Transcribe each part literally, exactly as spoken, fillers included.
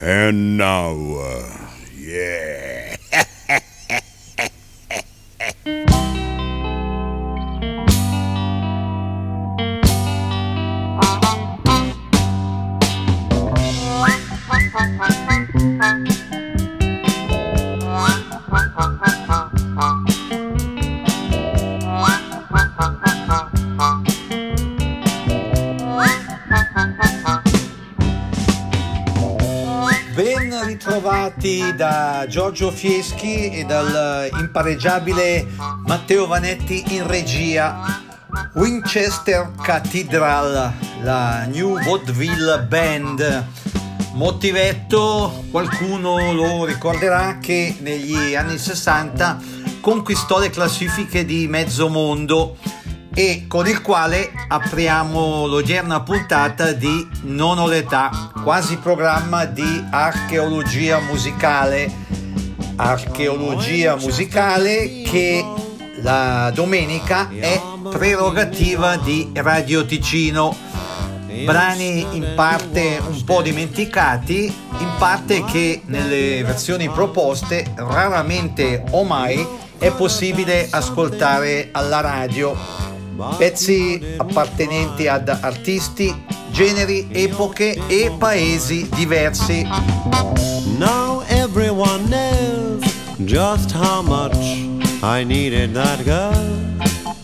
And now, uh, yeah. Ben ritrovati da Giorgio Fieschi e dal impareggiabile Matteo Vanetti in regia. Winchester Cathedral, la New Vaudeville Band. Motivetto, qualcuno lo ricorderà, che negli anni sessanta conquistò le classifiche di mezzo mondo e con il quale apriamo l'odierna puntata di Non ho l'età, quasi programma di archeologia musicale. Archeologia musicale che la domenica è prerogativa di Radio Ticino. Brani in parte un po' dimenticati, in parte che nelle versioni proposte raramente o mai è possibile ascoltare alla radio. Pezzi appartenenti ad artisti, generi, epoche e paesi diversi. Now everyone knows just how much I needed that girl.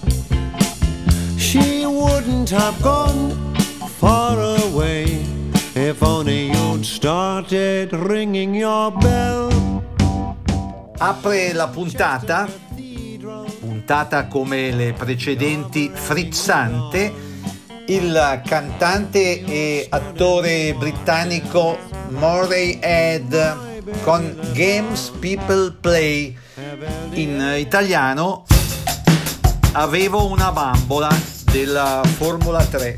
She wouldn't have gone far away if only you'd started ringing your bell. Apre la puntata, puntata come le precedenti frizzante, il cantante e attore britannico Moray Head con Games People Play, in italiano Avevo una bambola, della Formula tre.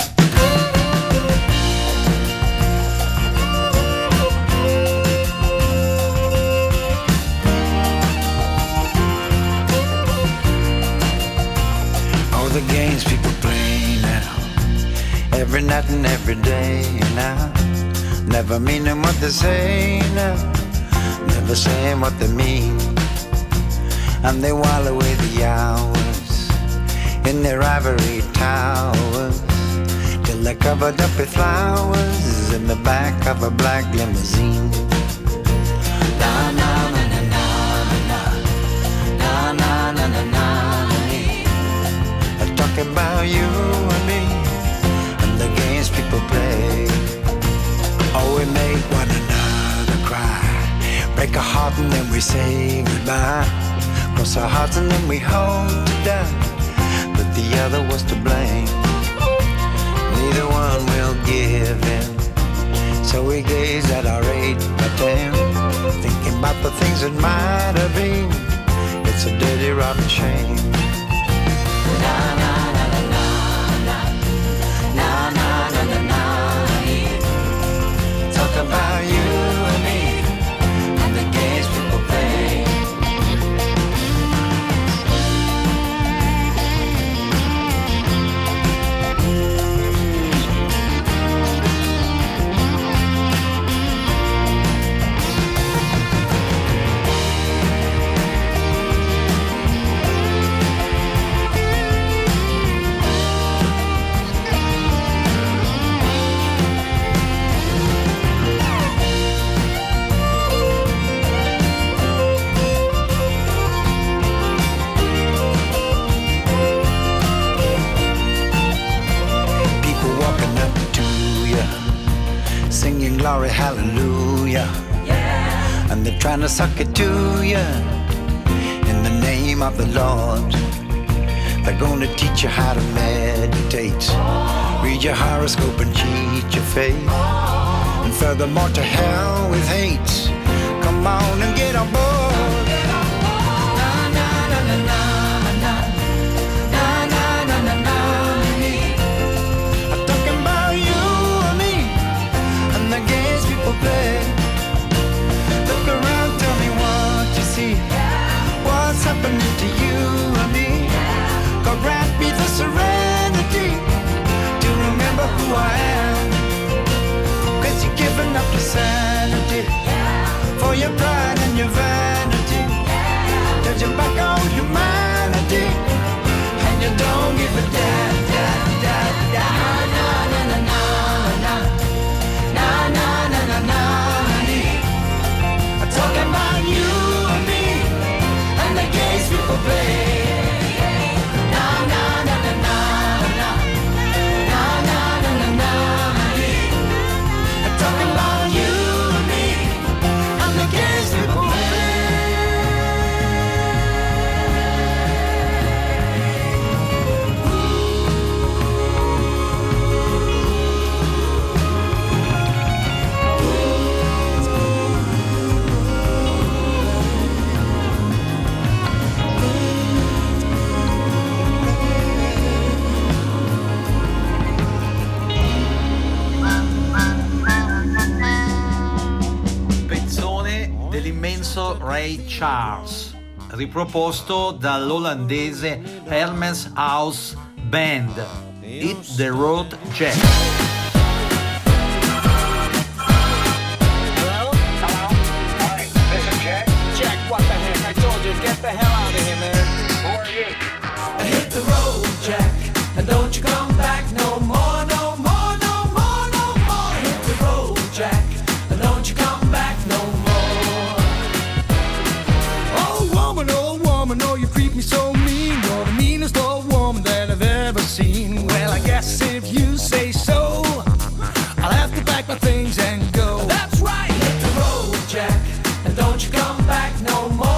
The games people play now, every night and every day now, never meaning what they say now, never saying what they mean, and they while away the hours in their ivory towers, till they're covered up with flowers in the back of a black limousine. Na na na na na na na na na na. Talking about you and me and the games people play. Oh, we make one another cry, break a heart and then we say goodbye, cross our hearts and then we hope to die that the other was to blame. Neither one will give in, so we gaze at our age by ten, thinking about the things that might have been. It's a dirty rotten shame. Na na na na na na na na na na. Talk about you and me and the games people play. Glory, hallelujah, yeah. And they're trying to suck it to you in the name of the Lord. They're going to teach you how to meditate, read your horoscope and cheat your faith, and furthermore to hell with hate. Come on and get on board. Look around, tell me what you see. What's happening to you and me? God grant me the serenity to remember who I am, 'cause you're giving up your sanity. dell'immenso Ray Charles, riproposto dall'olandese Hermes House Band, Hit the Road Jack. Get the hell out of here, man. Who are you? Hit the road, Jack, and don't you come back no more, no more, no more, no more. Hit the road, Jack, and don't you come back no more. Oh woman, oh woman, oh you treat me so mean. You're the meanest old woman that I've ever seen. Well, I guess if you say so, I'll have to pack my things and go. That's right. Hit the road, Jack, and don't you come back no more.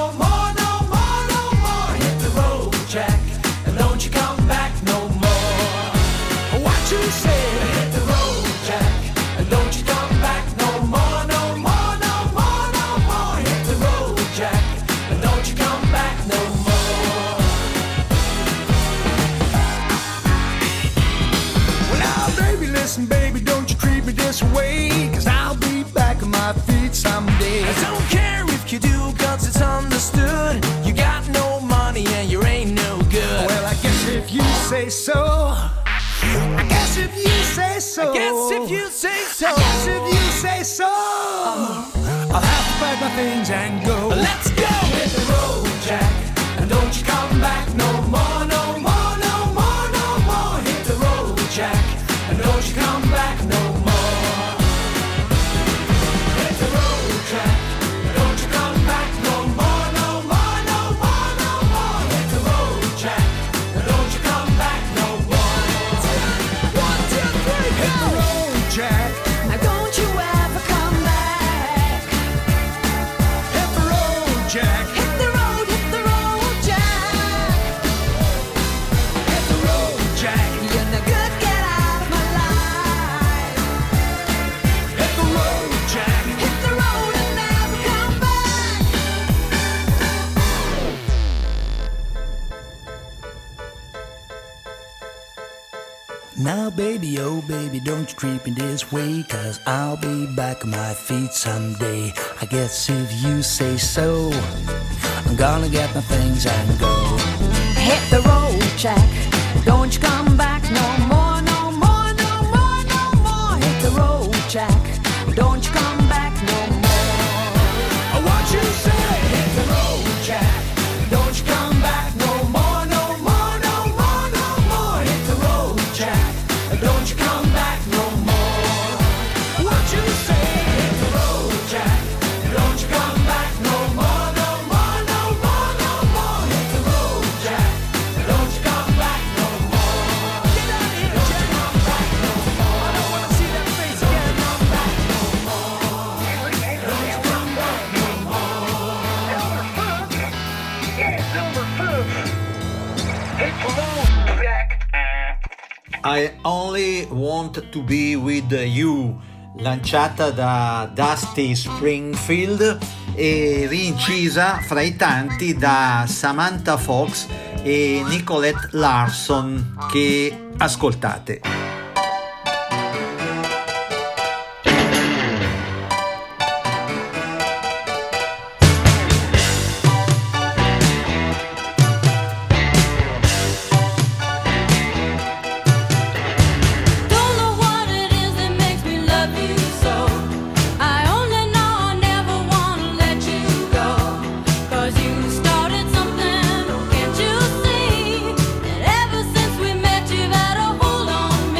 Way, cause I'll be back on my feet someday. I don't care if you do, cause it's understood. You got no money and you ain't no good. Well, I guess if you say so. I guess if you say so. I guess if you say so. I guess if you say so. I'll have to pack my things and go. Let's go! Hit the road, Jack, and don't you come back no more, no more, no more, no more. Hit the road, Jack, and don't you come back no more. Now baby, oh baby, don't you treat me this way, cause I'll be back on my feet someday. I guess if you say so, I'm gonna get my things and go. Hit the road, Jack, don't you come back no more, no more, no more, no more. Hit the road, Jack, don't you come back no more. What you say? Hit the road, Jack, don't you come back no more, no more, no more, no more. Hit the road, Jack, don't you come back no more. What you say? Hit the road, Jack, don't you come back no more, no more, no more, no more. Hit the road, Jack, don't you come back no more. Get out of here, Jack. Don't come back no more. I don't wanna see that face again. Don't come back no more. Don't you come back no more. Hit the road, Jack. I Only Want to Be With You, lanciata da Dusty Springfield e rincisa fra i tanti da Samantha Fox e Nicolette Larson, che ascoltate. Ever since we met, you've had a hold on me.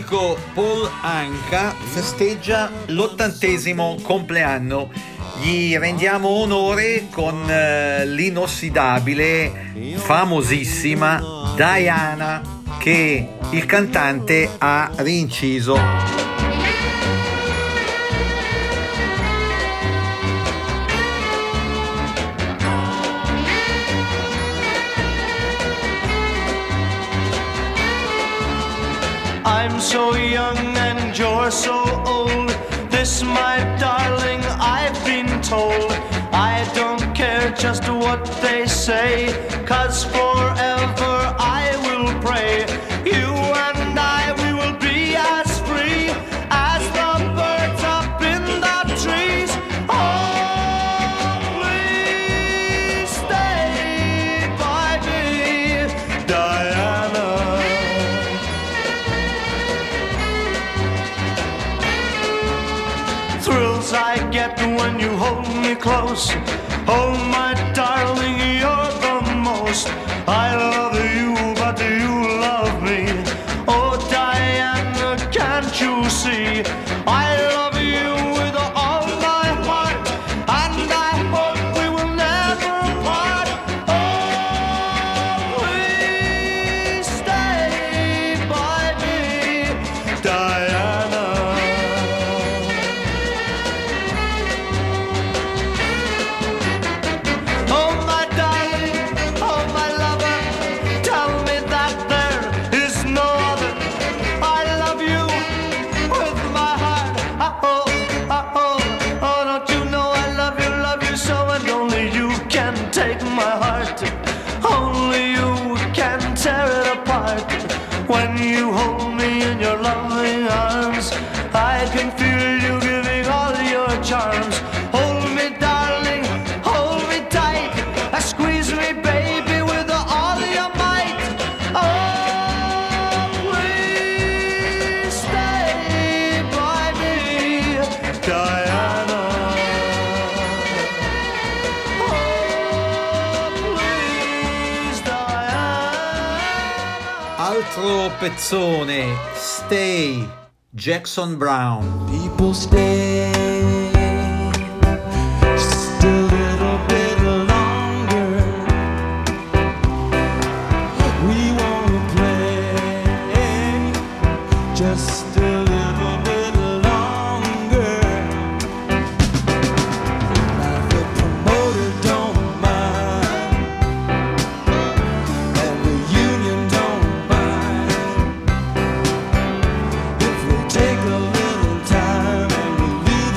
amico Paul Anka festeggia l'ottantesimo compleanno. Gli rendiamo onore con eh, l'inossidabile, famosissima Diana, che il cantante ha rinciso. I'm so young and you're so old. This, my darling, I've been told. I don't care just what they say, 'cause forever I will pray. You and I, we will be as free as the birds up in the trees. Oh, please stay by me, Diana. Thrills I get when you hold me close. Oh, my darling, you're the most. I love you, but you love me. Oh, Diana, can't you see? I love you with all my heart, and I hope we will never part. Oh, please stay by me, Diana. Oh, my darling, oh, my lover, tell me that there is no other. I love you with my heart. Oh, oh, oh, oh, don't you know I love you, love you so, and only you can take my heart. Only you can tear it apart. When you hold me in your loving arms, I can feel you giving all your charms. Hold me, darling, hold me tight. Uh, Squeeze me, baby, with all your might. Oh, please stay by me, Diana. Oh, please, Diana. Altro pezzone, Stay, Jackson Brown. People stay just a little bit longer. We wanna play just a little bit longer. Now the promoter don't mind, and the union don't mind, if we take a little time and we leave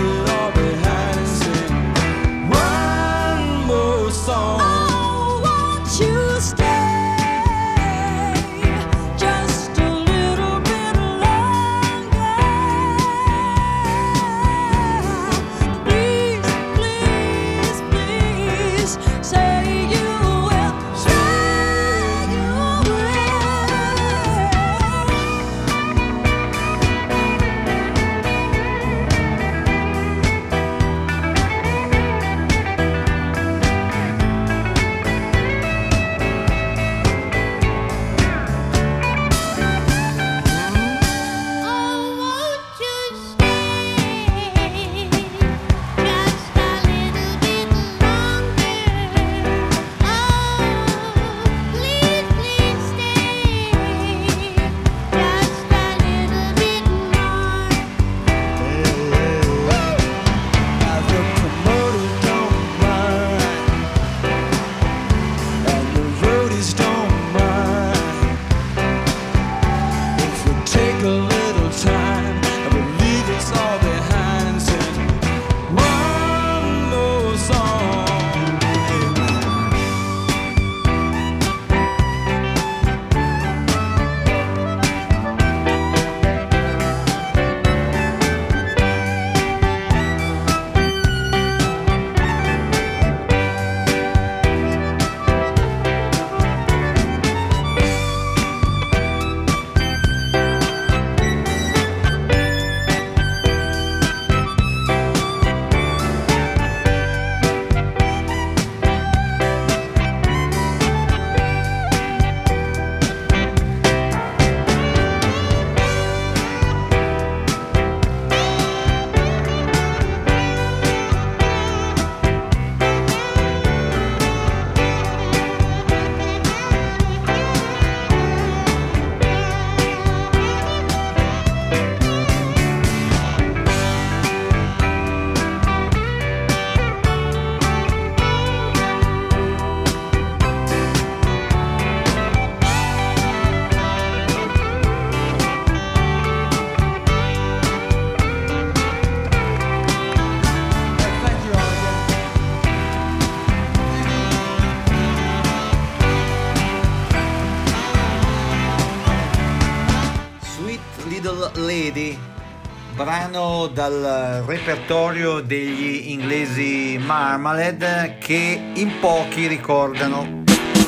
brano dal repertorio degli inglesi Marmalade che in pochi ricordano.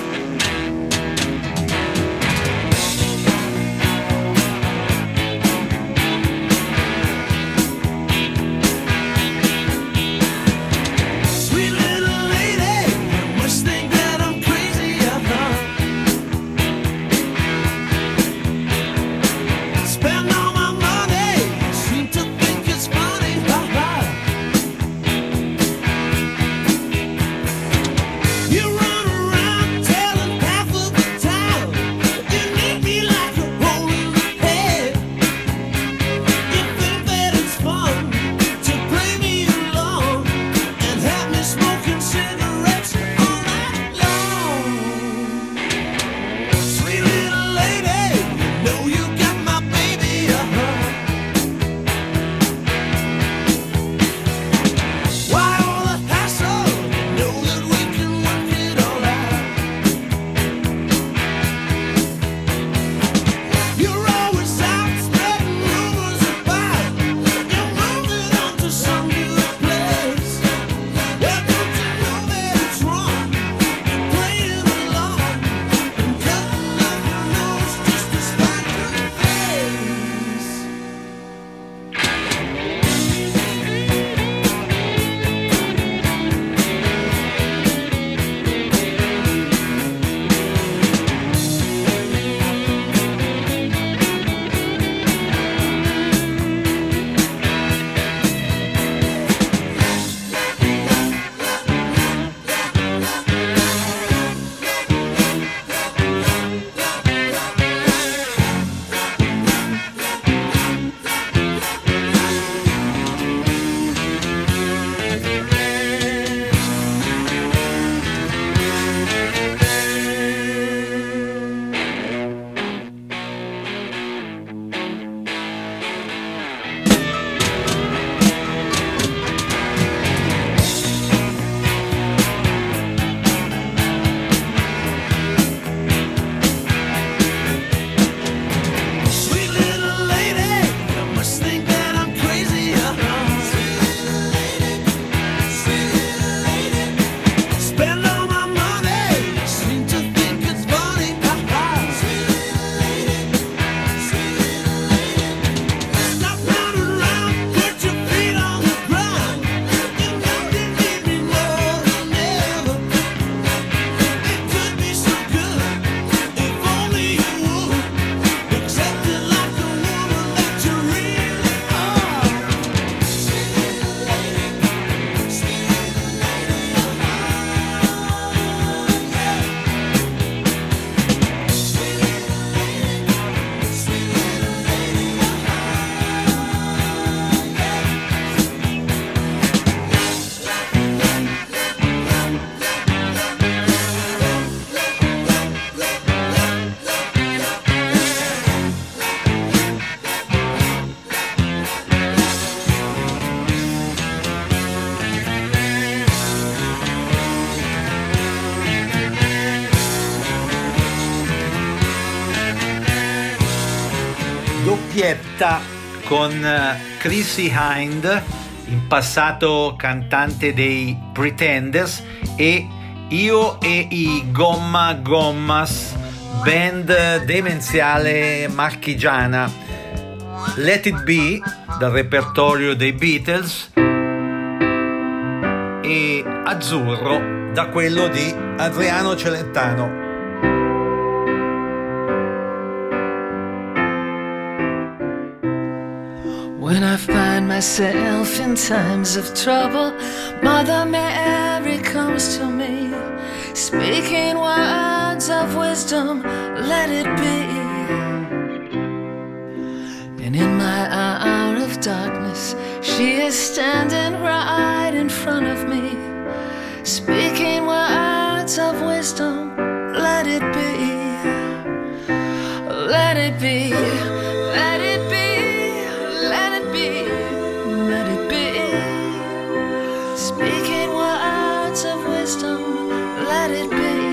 doppietta con Chrissie Hynde, in passato cantante dei Pretenders, e Io e i Gomma Gommas, band demenziale marchigiana. Let It Be dal repertorio dei Beatles e Azzurro da quello di Adriano Celentano. When I find myself in times of trouble, Mother Mary comes to me, speaking words of wisdom, let it be. And in my hour of darkness, she is standing right in front of me, speaking words of wisdom, let it be. Let it be, let it be. Let it be, let it be. Speaking words of wisdom, let it be.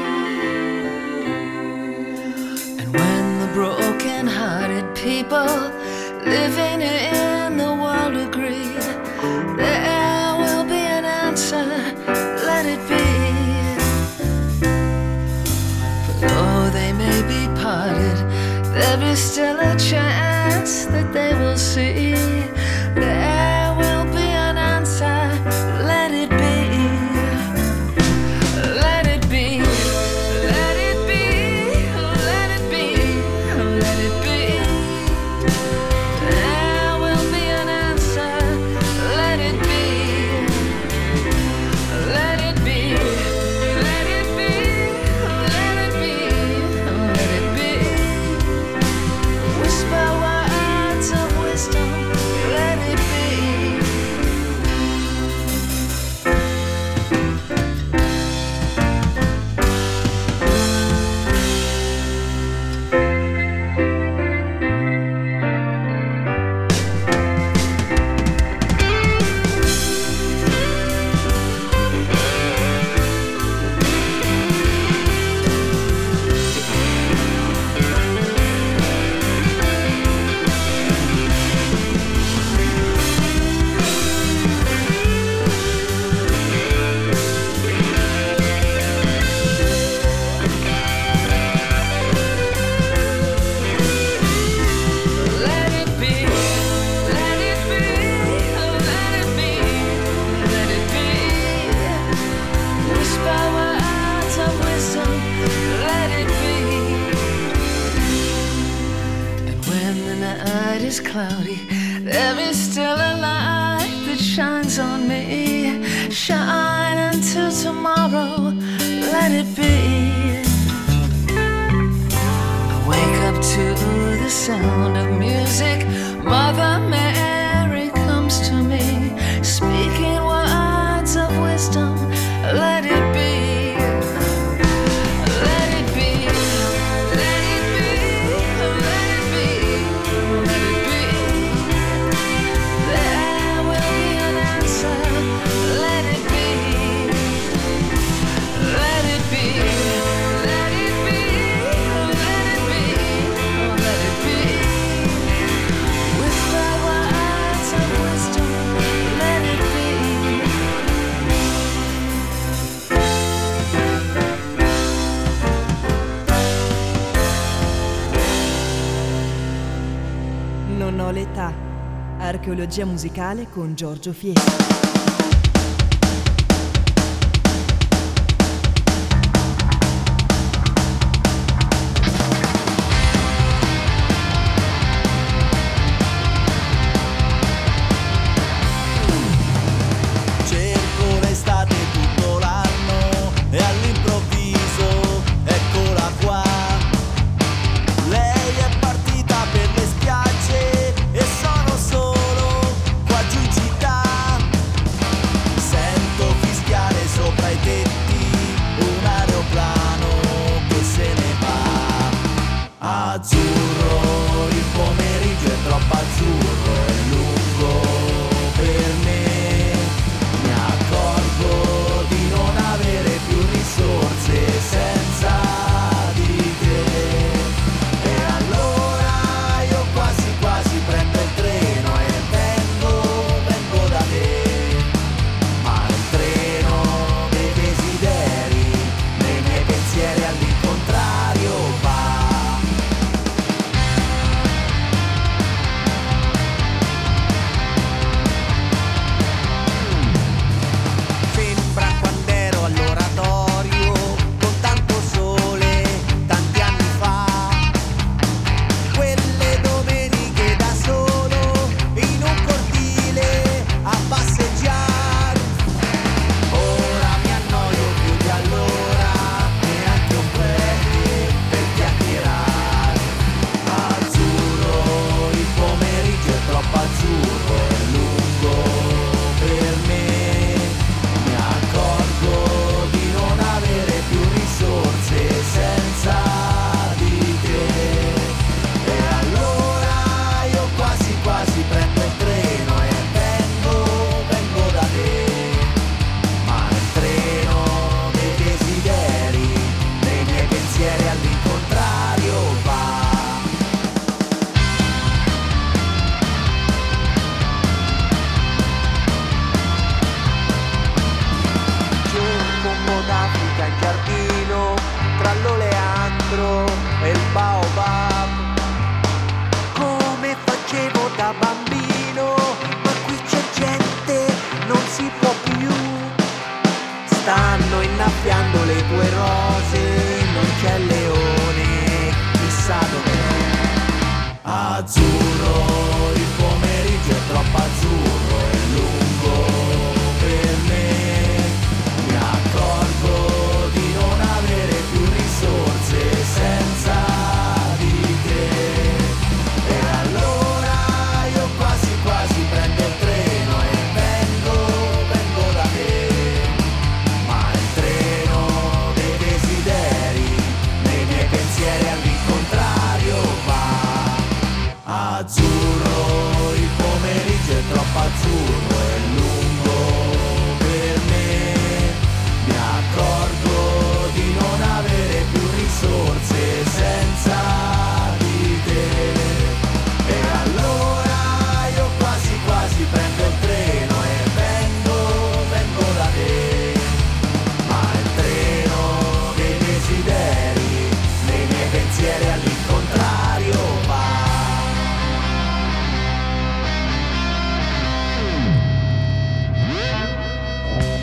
And when the broken-hearted people living in the world agree is still a chance that they will see. There will be an answer. Let it be. Let it be. Let it be. Let it be. Let it be. There will be an answer. Let it be. Let it be. Let it be. Let it be. Let it be. Whisper words of wisdom. Let it be. Let it be. Let it be. Let it be. Let it be. Whisper words of wisdom. Let it be. And when the night is cloudy, there is still a light that shines on me. Shine until tomorrow. Let it be. I wake up to the sound of music. Mother Mary comes to me, speaking words of wisdom. Let it be. Let it be. Let it be. Let it be. Let it be. There will be an answer. Let it be. Let it be. Let it be. Let it be. Let it be. Whisper words of wisdom. Let it be. Non ho l'età. Archeologia musicale con Giorgio Fieschi. Cerco l'estate tutto l'anno e all'improvviso eccola qua. Lei è partita per le spiagge e sono solo qua giù in città.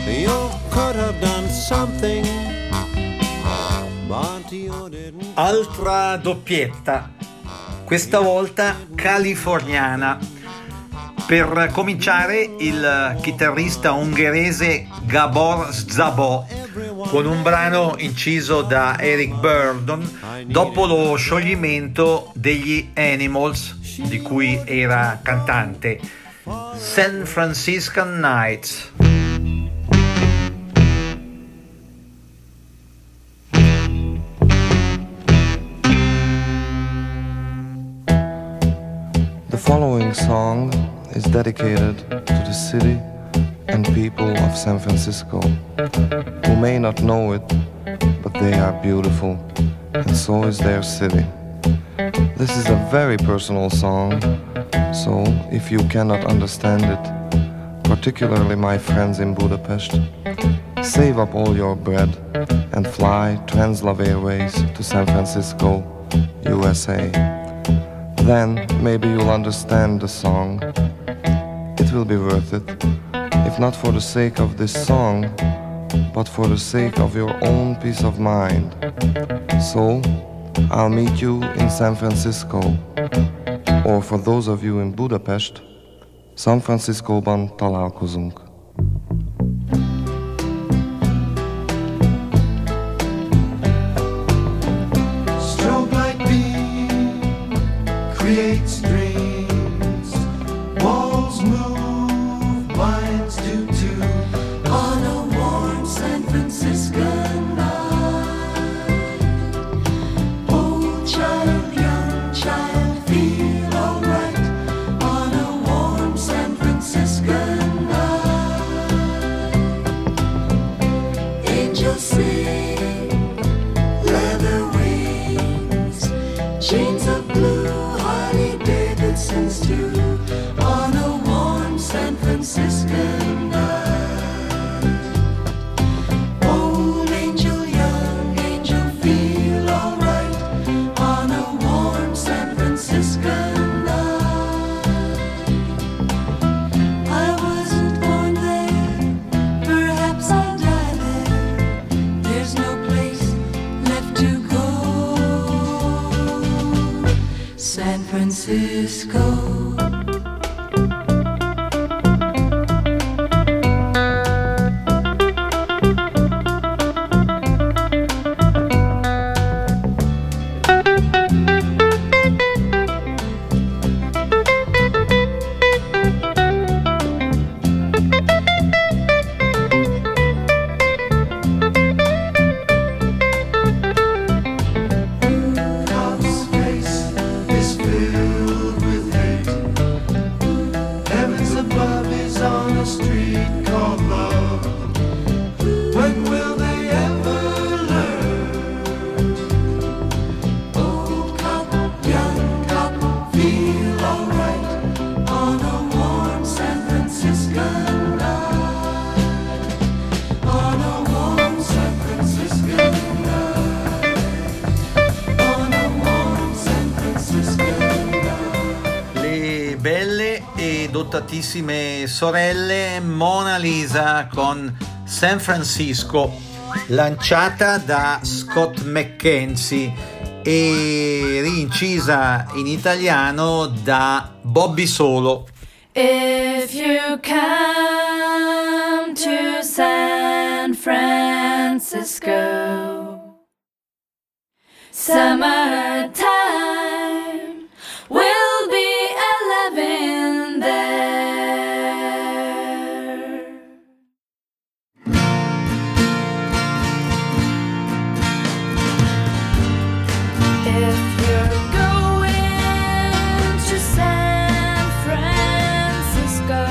You could have done something, but you didn't. Altra doppietta, questa volta californiana. Per cominciare, il chitarrista ungherese Gabor Szabó, con un brano inciso da Eric Burdon dopo lo scioglimento degli Animals, di cui era cantante. San Francisco Nights. The following song is dedicated to the city and people of San Francisco, who may not know it, but they are beautiful, and so is their city. This is a very personal song, so if you cannot understand it, particularly my friends in Budapest, save up all your bread and fly Translove Airways to San Francisco, U S A. Then maybe you'll understand the song. It will be worth it, if not for the sake of this song, but for the sake of your own peace of mind. So, I'll meet you in San Francisco, or for those of you in Budapest, San Francisco-ban találkozunk. Strobe light beam creates dreams. Walls move, minds do too. On a warm San Francisco night, old child, young child, feel alright. On a warm San Francisco night, angels sing, leather wings, chains of blue, Harley Davidsons too. On a warm San Francisco night, old angel, young angel, feel alright. On a warm San Francisco night, I wasn't born there, perhaps I'll die there. There's no place left to go. San Francisco. House face is filled with hate. Heavens above is on a street called love. When will they ever learn? Old cop, young cop, feel alright. On a warm San Francisco night. On a warm San Francisco night. On a warm San Francisco night. Le belle e dotatissime sorelle Mona Lisa con San Francisco, lanciata da Scott McKenzie e rincisa in italiano da Bobby Solo. If you come to San Francisco, summertime will be alive in there. If you're going to San Francisco,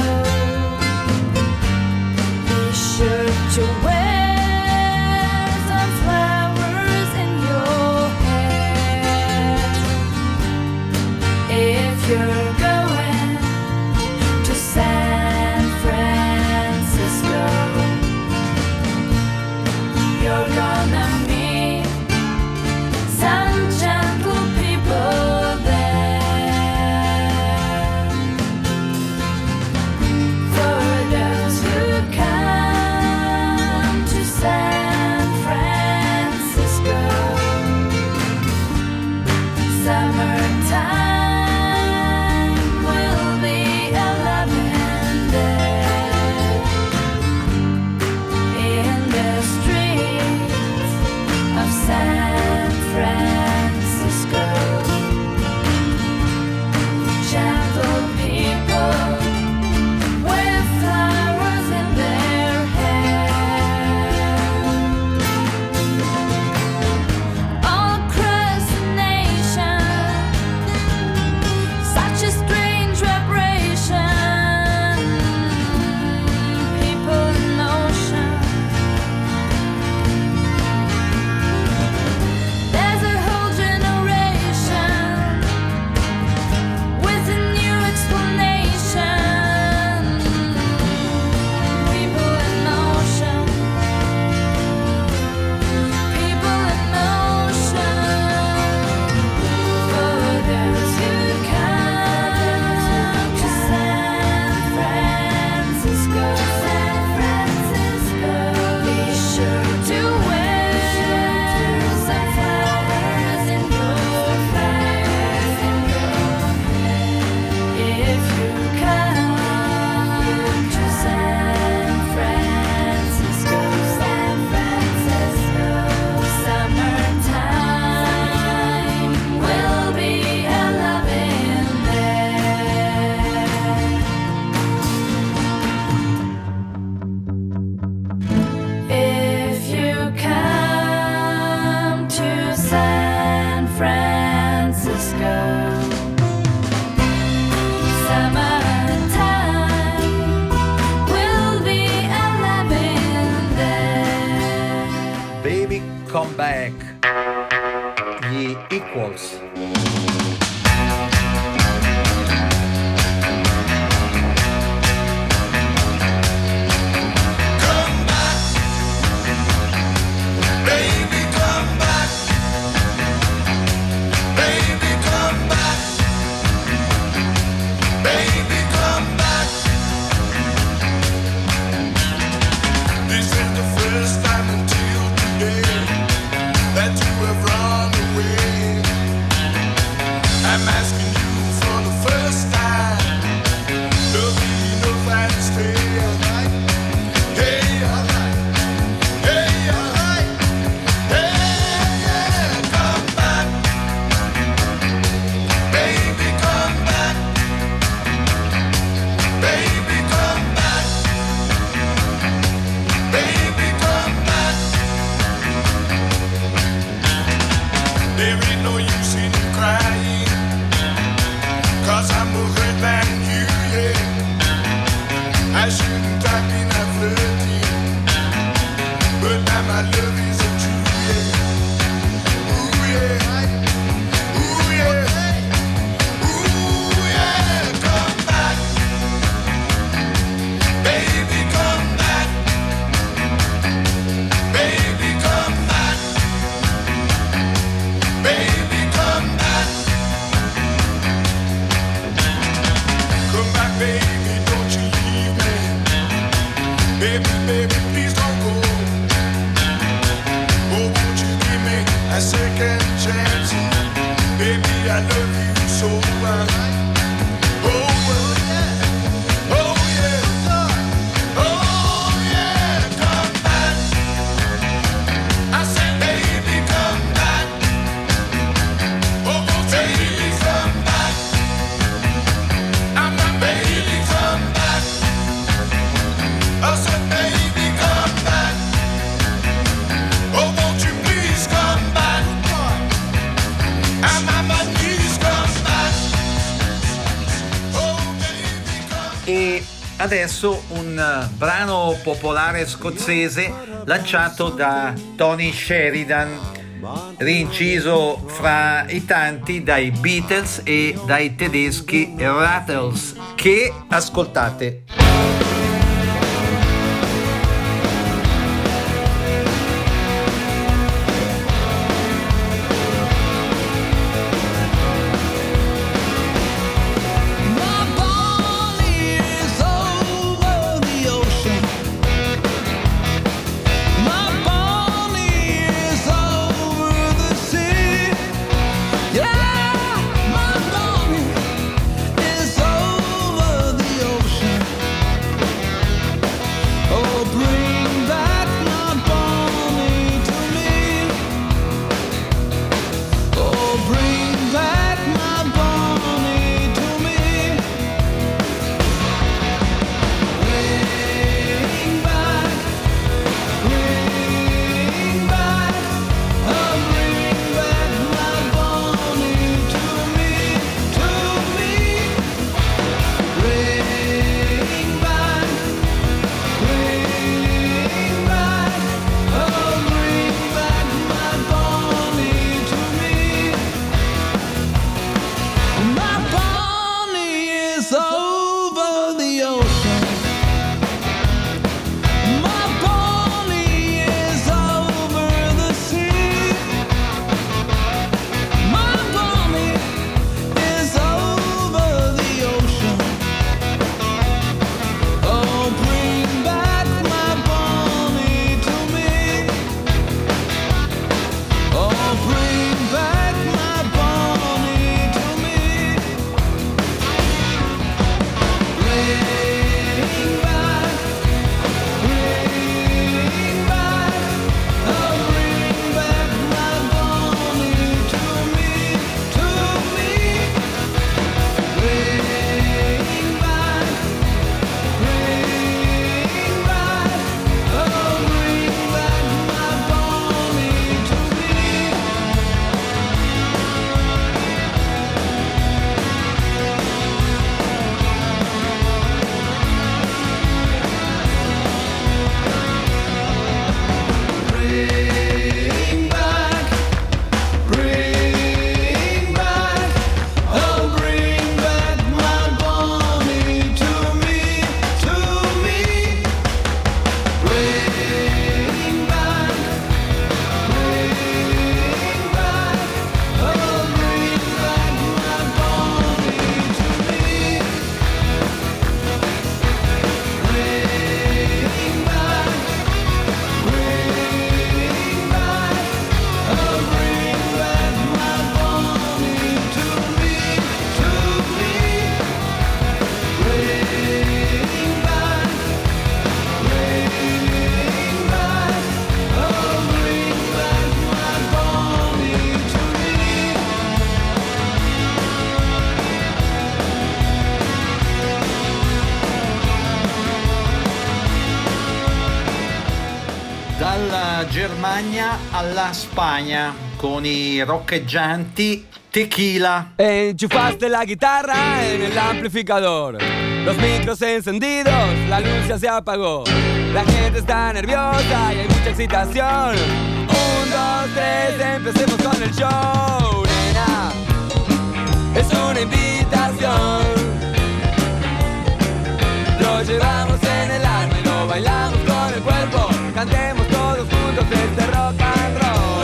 be sure to wear some flowers in your hair. If you're going to San Francisco, you're gonna meet some gentle people there. For those who come Come Back, gli Equals. Adesso un brano popolare scozzese lanciato da Tony Sheridan, rinciso fra i tanti dai Beatles e dai tedeschi Rattles, che ascoltate. dalla Germania alla Spagna con i roccheggianti Tequila. Enchufaste la guitarra en el amplificador, los micros encendidos, la luz ya se apagó, la gente está nerviosa y hay mucha excitación. Un, dos, tres, empecemos con el show, nena, es una invitación. Lo llevamos en el alma y lo bailamos con el cuerpo. Cantemos todos juntos este rock and roll.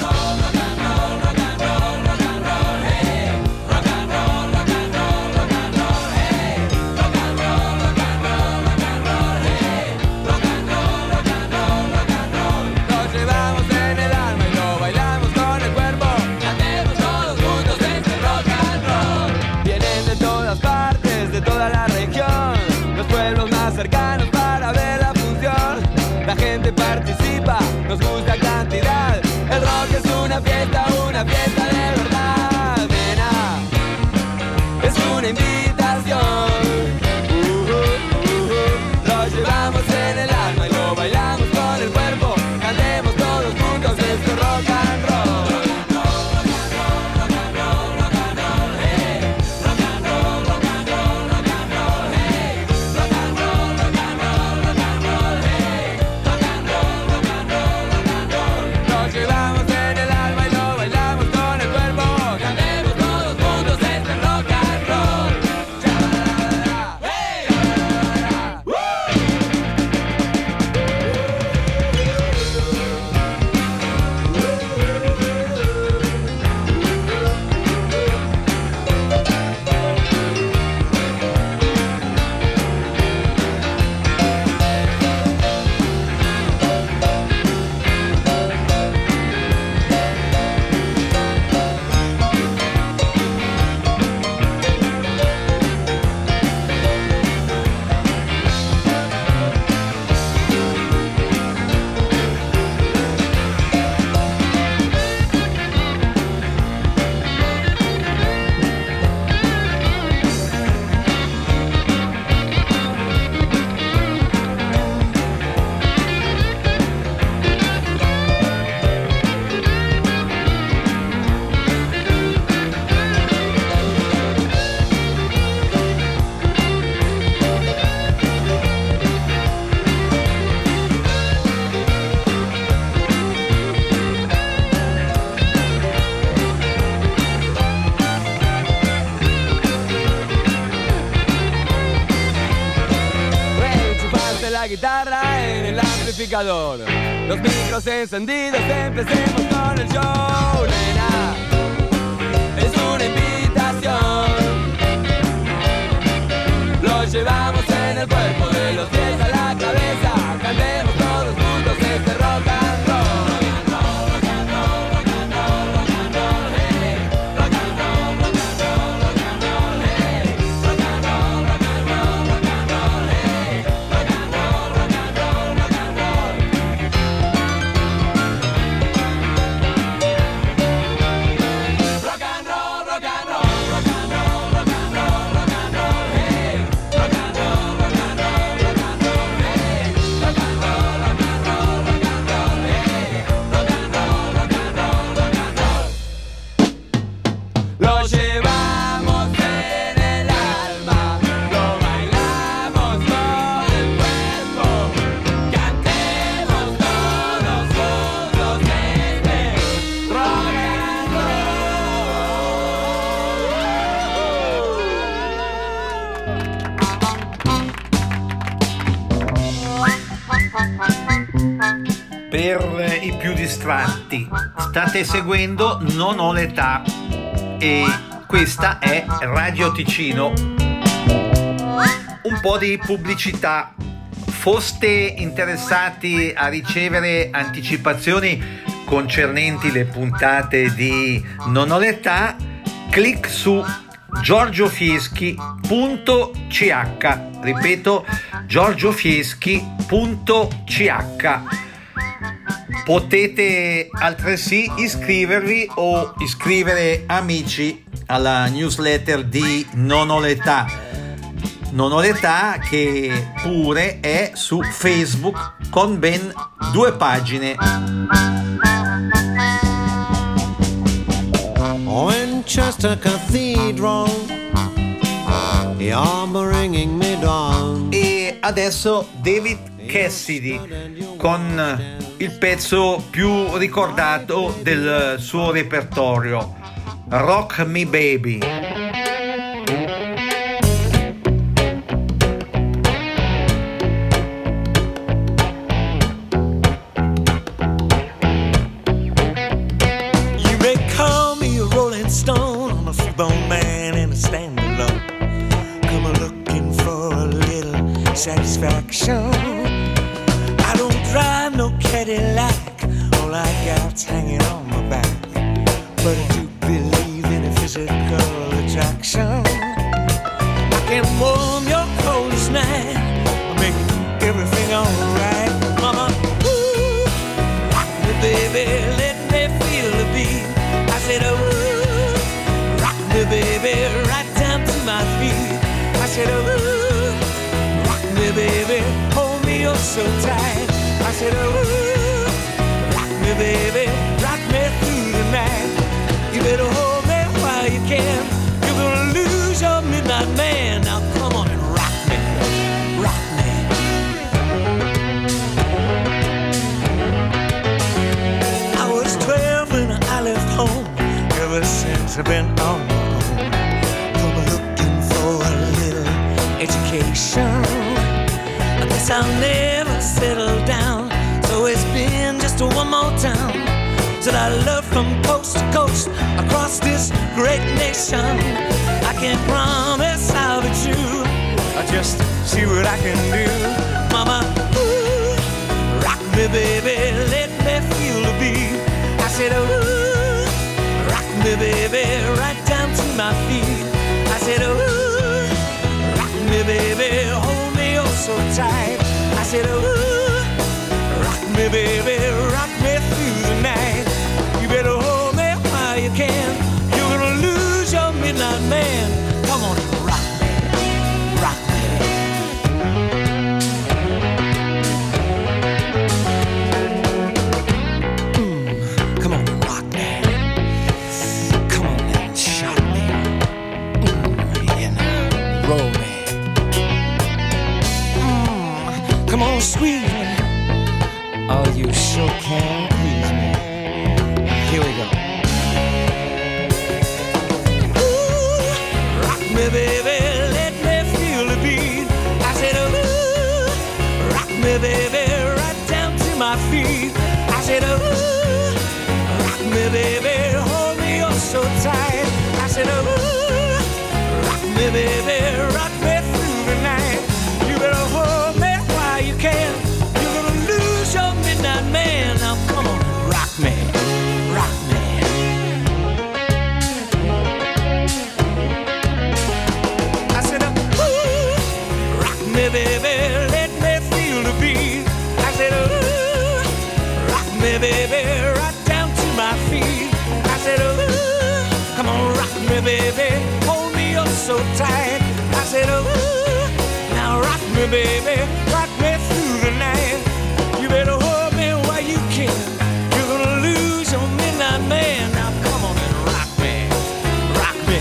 Lo llevamos en el alma y lo bailamos con el cuerpo. Cantemos todos juntos este rock and roll. Vienen de todas partes, de toda la región, los pueblos más cercanos para ver la función. La gente participa, nos gusta cantidad. El rock es una fiesta, una fiesta de verdad. Nena, es una invitación. Uh, uh, uh, lo llevamos en el alma y lo bailamos con el cuerpo. Cantemos todos juntos este rock and roll. Guitarra en el amplificador, los micros encendidos, empecemos con el show, nena, es una invitación. Lo llevamos en el cuerpo, de los pies a la cabeza, cantemos todos juntos este rock and roll. Per i più distratti, state seguendo Non ho l'età e questa è Radio Ticino. Un po' di pubblicità. Foste interessati a ricevere anticipazioni concernenti le puntate di Non ho l'età, clic su giorgiofieschi punto c h, ripeto giorgiofieschi punto c h. Potete altresì iscrivervi o iscrivere amici alla newsletter di Non ho l'età. Non ho l'età che pure è su Facebook con ben due pagine. Winchester Cathedral, you're bringing me down. E adesso David Cassidy con il pezzo più ricordato del suo repertorio, Rock Me Baby. You may call me a Rolling Stone, I'm a free-born man and a stand-alone. Come looking for a little satisfaction. I don't drive no Cadillac, all I got's hanging on my back. But I do believe in a physical attraction. I can warm your coldest night, make everything alright. Mama, ooh, rock me baby, let me feel the beat. I said, ooh, rock me baby, right down to my feet. I said, ooh, rock me baby, hold me oh so tight. I said, ooh, rock me baby, rock me through the night. You better hold me while you can, you're gonna lose your midnight man. Now come on and rock me, rock me. I was twelve when I left home, ever since I've been on my own. Come looking for a little education. I guess I'll never settle down, so it's been just one more town that I love from coast to coast across this great nation. I can't promise I'll be true, I just see what I can do. Mama, ooh, rock me baby, let me feel the beat. I said, ooh, rock me baby, right down to my feet. I said, ooh, rock me baby, hold me oh so tight. I said, ooh, rock me baby, rock me through the night. You better hold me while you can, you're gonna lose your midnight man. Come on and rock me, rock me. Mm, come on and rock me. Come on and shock me. Mm, you know, roll me. Mm, come on, squeeze me. Oh, you sure can please me. Here we go. Ooh, rock me baby, let me feel the beat. I said, ooh, rock me baby, right down to my feet. I said, ooh, rock me baby, hold me oh so tight. I said, ooh, rock me baby, rock me through the night. You better hold me while you can, you're gonna lose your midnight man. Now come on and rock me, rock me. I said, ooh, rock me baby, let me feel the beat. I said, ooh, rock me baby, right down to my feet. I said, ooh, come on, rock me baby, hold me oh so tight. I said, ooh, now rock me baby, rock me through the night. You better hold me while you can, you're gonna lose your midnight man. Now come on and rock me, rock me.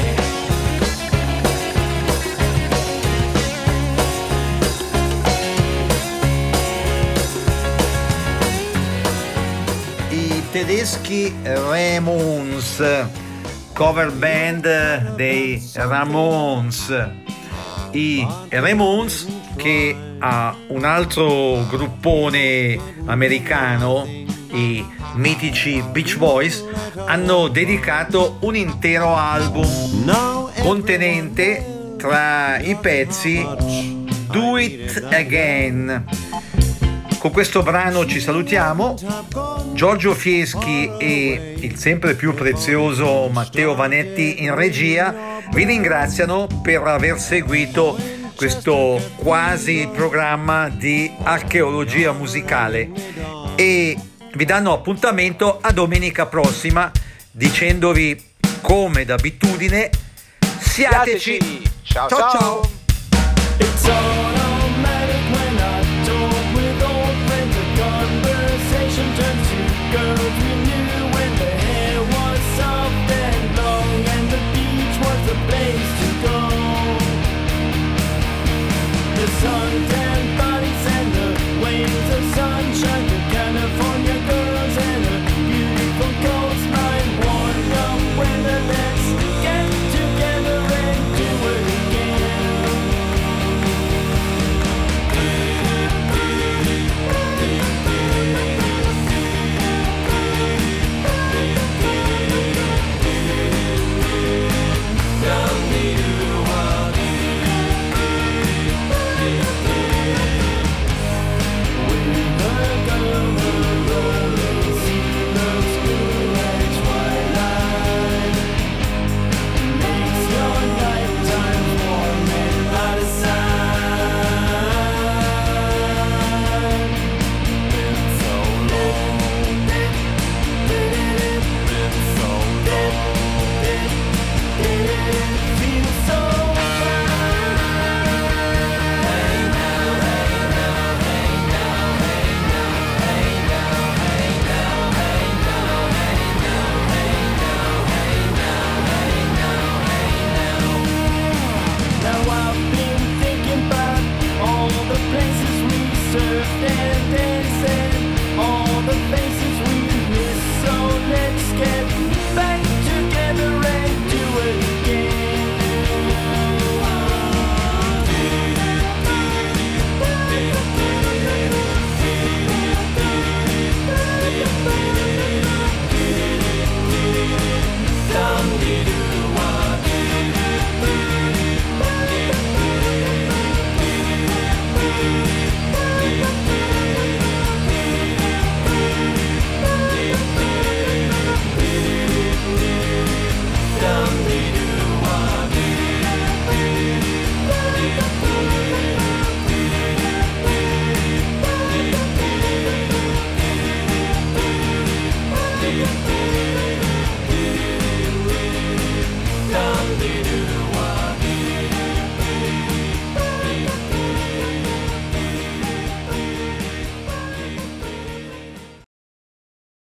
I tedeschi Ramones, cover band dei Ramones. I Ramones, che ha un altro gruppone americano, i mitici Beach Boys, hanno dedicato un intero album contenente tra i pezzi Do It Again. Con questo brano ci salutiamo. Giorgio Fieschi e il sempre più prezioso Matteo Vanetti in regia vi ringraziano per aver seguito questo quasi programma di archeologia musicale e vi danno appuntamento a domenica prossima, dicendovi come d'abitudine: siateci! Ciao ciao! ciao! ciao.